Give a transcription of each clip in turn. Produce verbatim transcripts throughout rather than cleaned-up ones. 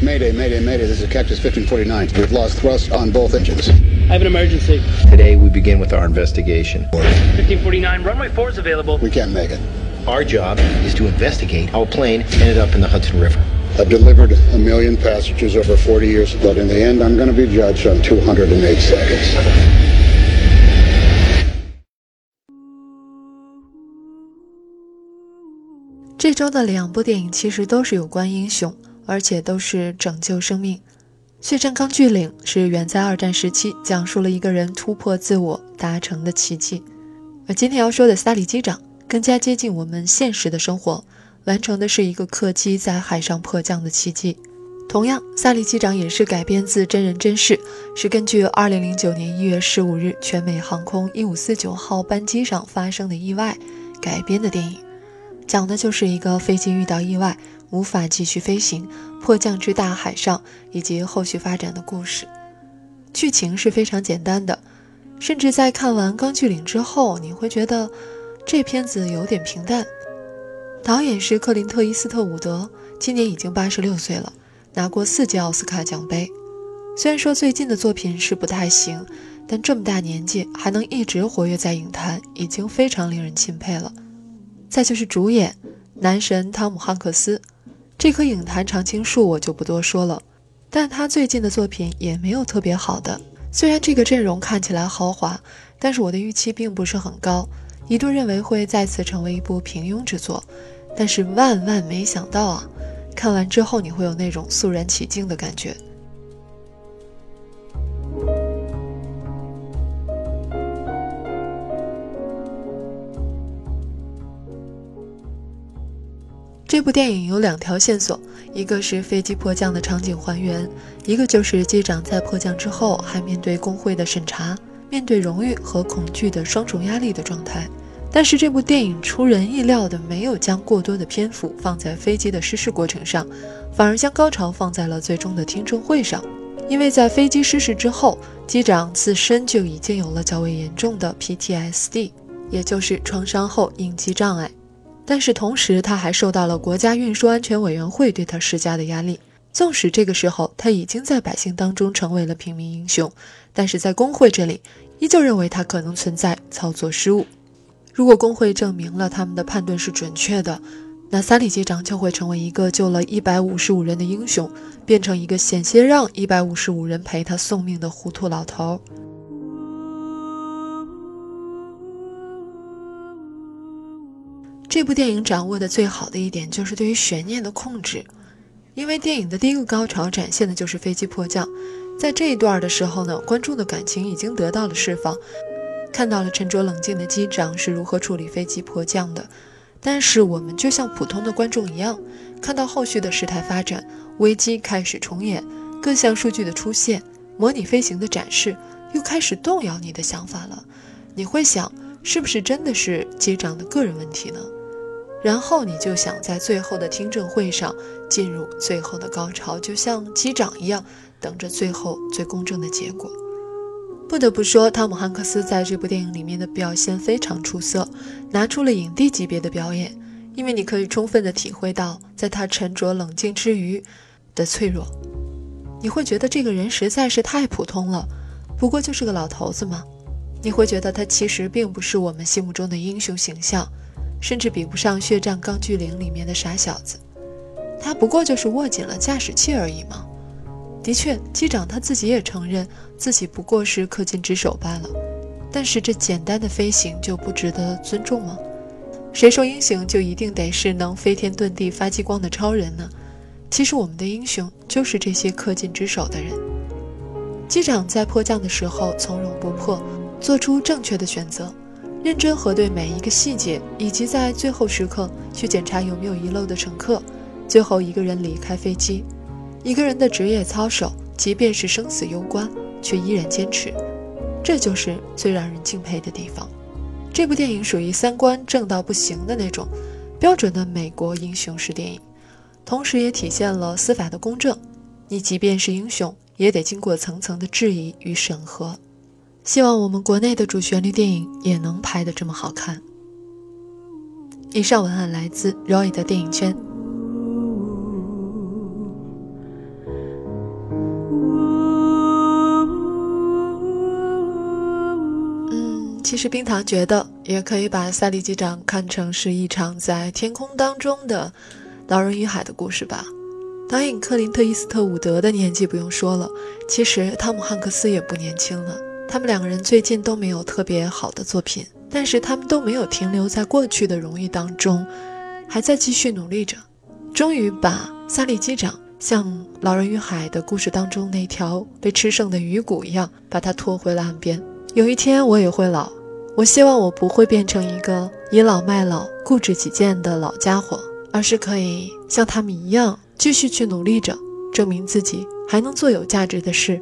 Mayday, mayday, mayday. This is Cactus fifteen forty-nine. We've lost thrust on both engines. I have an emergency. Today we begin with our investigation. fifteen forty-nine, runway four is available. We can't make it. Our job is to investigate how a plane ended up in the Hudson River. I've delivered a million passengers over forty years, but in the end, I'm going to be judged on two hundred eight seconds. 这周的两部电影其实都是有关英雄，而且都是拯救生命。血战钢锯岭是远在二战时期，讲述了一个人突破自我达成的奇迹。而今天要说的萨里机长更加接近我们现实的生活，完成的是一个客机在海上迫降的奇迹。同样，萨里机长也是改编自真人真事，是根据二零零九年一月十五日全美航空一五四九号班机上发生的意外改编的电影。讲的就是一个飞机遇到意外，无法继续飞行，迫降至大海上，以及后续发展的故事。剧情是非常简单的，甚至在看完《钢锯岭》之后，你会觉得这片子有点平淡。导演是克林特·伊斯特伍德，今年已经八十六岁了，拿过四届奥斯卡奖杯。虽然说最近的作品是不太行，但这么大年纪还能一直活跃在影坛，已经非常令人钦佩了。再就是主演男神汤姆·汉克斯，这棵影坛常青树我就不多说了，但他最近的作品也没有特别好的。虽然这个阵容看起来豪华，但是我的预期并不是很高，一度认为会再次成为一部平庸之作，但是万万没想到啊，看完之后你会有那种肃然起敬的感觉。这部电影有两条线索，一个是飞机迫降的场景还原，一个就是机长在迫降之后还面对工会的审查，面对荣誉和恐惧的双重压力的状态。但是这部电影出人意料的没有将过多的篇幅放在飞机的失事过程上，反而将高潮放在了最终的听证会上。因为在飞机失事之后，机长自身就已经有了较为严重的 P T S D， 也就是创伤后应激障碍。但是同时他还受到了国家运输安全委员会对他施加的压力，纵使这个时候他已经在百姓当中成为了平民英雄，但是在工会这里依旧认为他可能存在操作失误。如果工会证明了他们的判断是准确的，那萨里机长就会成为一个救了一百五十五人的英雄，变成一个险些让一百五十五人陪他送命的糊涂老头。这部电影掌握的最好的一点就是对于悬念的控制，因为电影的第一个高潮展现的就是飞机迫降，在这一段的时候呢，观众的感情已经得到了释放，看到了沉着冷静的机长是如何处理飞机迫降的。但是我们就像普通的观众一样，看到后续的事态发展，危机开始重演，各项数据的出现，模拟飞行的展示，又开始动摇你的想法了。你会想，是不是真的是机长的个人问题呢？然后你就想在最后的听证会上进入最后的高潮，就像机长一样，等着最后最公正的结果。不得不说，汤姆·汉克斯在这部电影里面的表现非常出色，拿出了影帝级别的表演，因为你可以充分地体会到在他沉着冷静之余的脆弱。你会觉得这个人实在是太普通了，不过就是个老头子嘛。你会觉得他其实并不是我们心目中的英雄形象，甚至比不上《血战钢锯岭》里面的傻小子，他不过就是握紧了驾驶器而已嘛。的确，机长他自己也承认自己不过是恪尽职守罢了，但是这简单的飞行就不值得尊重吗？谁说英雄就一定得是能飞天遁地发激光的超人呢？其实我们的英雄就是这些恪尽职守的人。机长在迫降的时候从容不迫，做出正确的选择，认真核对每一个细节，以及在最后时刻去检查有没有遗漏的乘客，最后一个人离开飞机。一个人的职业操守，即便是生死攸关，却依然坚持，这就是最让人敬佩的地方。这部电影属于三观正到不行的那种标准的美国英雄式电影，同时也体现了司法的公正，你即便是英雄也得经过层层的质疑与审核。希望我们国内的主旋律电影也能拍得这么好看。以上文案来自 Roy 的电影圈。 其实冰糖觉得也可以把赛利机长看成是一场在天空当中的老人与海的故事吧。导演克林特·伊斯特伍德的年纪不用说了，其实汤姆·汉克斯也不年轻了，他们两个人最近都没有特别好的作品，但是他们都没有停留在过去的荣誉当中，还在继续努力着，终于把萨利机长像老人与海的故事当中那条被吃剩的鱼骨一样把它拖回了岸边。有一天我也会老，我希望我不会变成一个倚老卖老固执己见的老家伙，而是可以像他们一样继续去努力着，证明自己还能做有价值的事。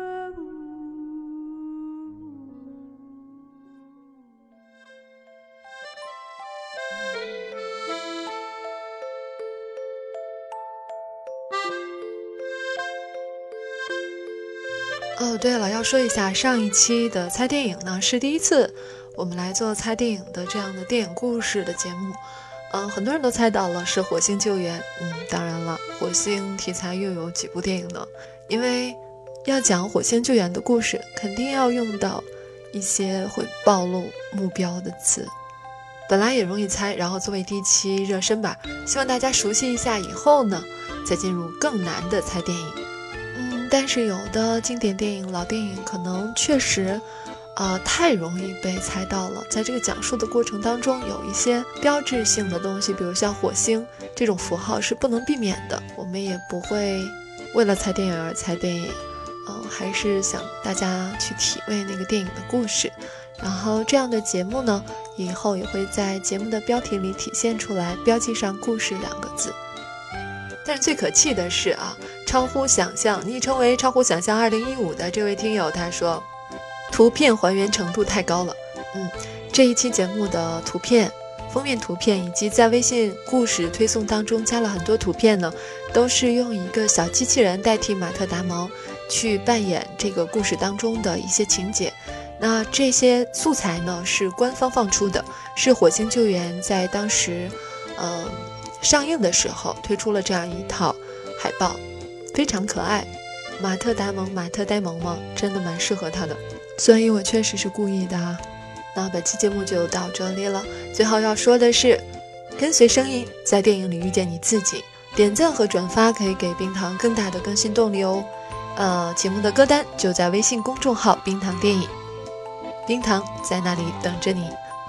哦，对了，要说一下上一期的猜电影呢，是第一次我们来做猜电影的这样的电影故事的节目。嗯，很多人都猜到了是火星救援。嗯，当然了，火星题材又有几部电影呢？因为要讲火星救援的故事，肯定要用到一些会暴露目标的词，本来也容易猜，然后作为第一期热身吧，希望大家熟悉一下，以后呢再进入更难的猜电影。嗯，但是有的经典电影、老电影可能确实呃，太容易被猜到了，在这个讲述的过程当中，有一些标志性的东西，比如像火星这种符号是不能避免的，我们也不会为了猜电影而猜电影，嗯、呃，还是想大家去体味那个电影的故事。然后这样的节目呢，以后也会在节目的标题里体现出来，标记上故事两个字。但是最可气的是啊，超乎想象，昵称为超乎想象二零一五的这位听友他说，图片还原程度太高了。嗯，这一期节目的图片、封面图片以及在微信故事推送当中加了很多图片呢，都是用一个小机器人代替马特·达蒙去扮演这个故事当中的一些情节。那这些素材呢是官方放出的，是火星救援在当时呃上映的时候推出了这样一套海报，非常可爱。马特·达蒙，马特·呆萌嘛，真的蛮适合他的。所以我确实是故意的啊。那本期节目就到这里了，最后要说的是，跟随声音在电影里遇见你自己，点赞和转发可以给冰糖更大的更新动力哦。呃，节目的歌单就在微信公众号冰糖电影，冰糖在那里等着你。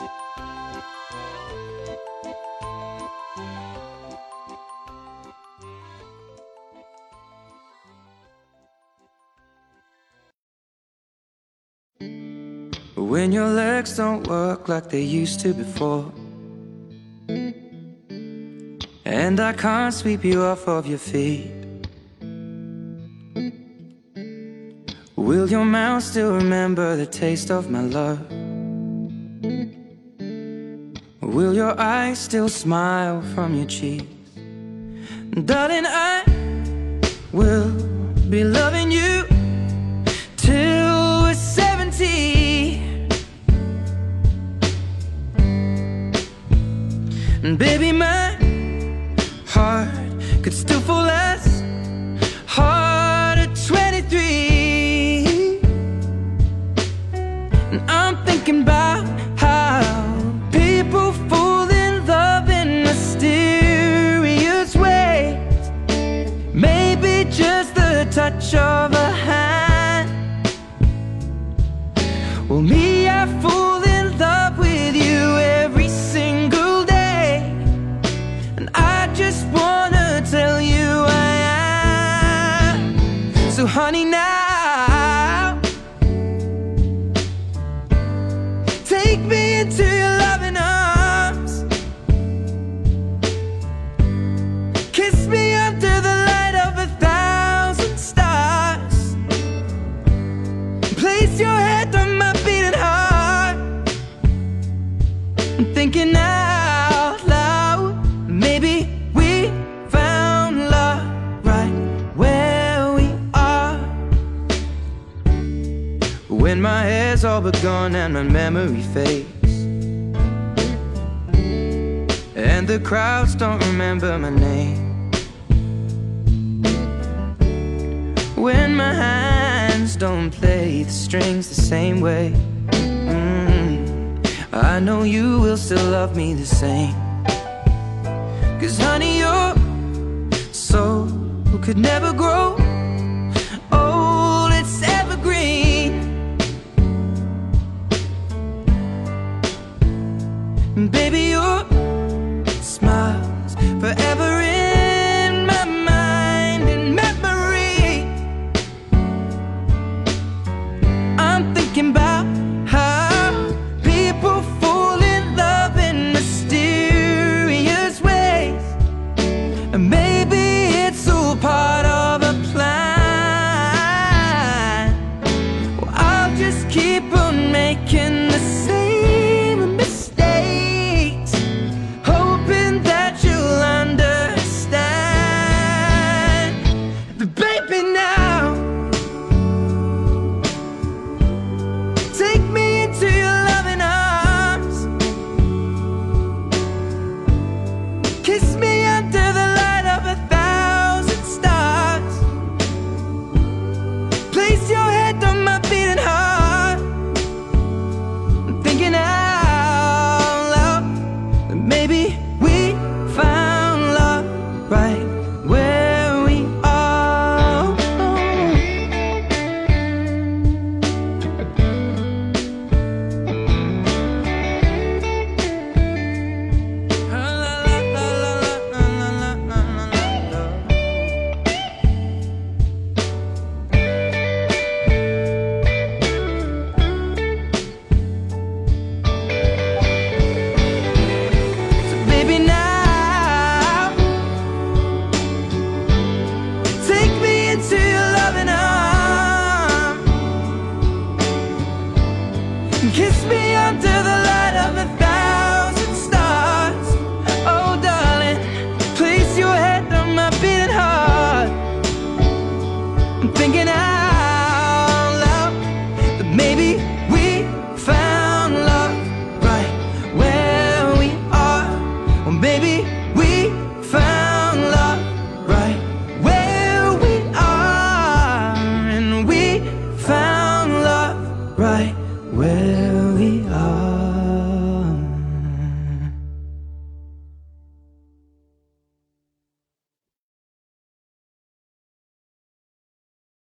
When your legs don't work like they used to before, and I can't sweep you off of your feet, will your mouth still remember the taste of my love? Will your eyes still smile from your cheeks? Darling, I will be loving you till we're seventy. And baby, my heart could still fall less hard at twenty-three. And I'm thinking about how people fall in love in mysterious ways. Maybe just the touch of a hand. Well, me, I fall in love with you every single day. I just wanna tell you I am. So honey, now take me into your loving arms, kiss me under the light of a thousand stars, place your head on my beating heart. I'm thinking out loud, maybe we found love right where we are. When my hair's all but gone and my memory fades, and the crowds don't remember my name, when my hands don't play the strings the same way, mm. I know you will still love me the same. Cause honey, your soul could never grow old, it's evergreen. And baby, your smile's forever in my mind and memory. I'm thinking about how people fall in love in mysterious ways, and maybe it's all part of a plan. Well, I'll just keep on making the same mistakes, hoping that you'll understand. But baby, now take me into your loving arms, kiss me under the light of a thousand stars, place your head on my beating heart. I'm thinking out loud that maybe we found love right where we are. So baby, now take me into your loving arms, kiss me under the light of a thousand stars. Oh darling, place your head on my beating heart. I'm thinking out loud that maybe we found love right where we are. Or maybe we found love right where we are. And we found love right where we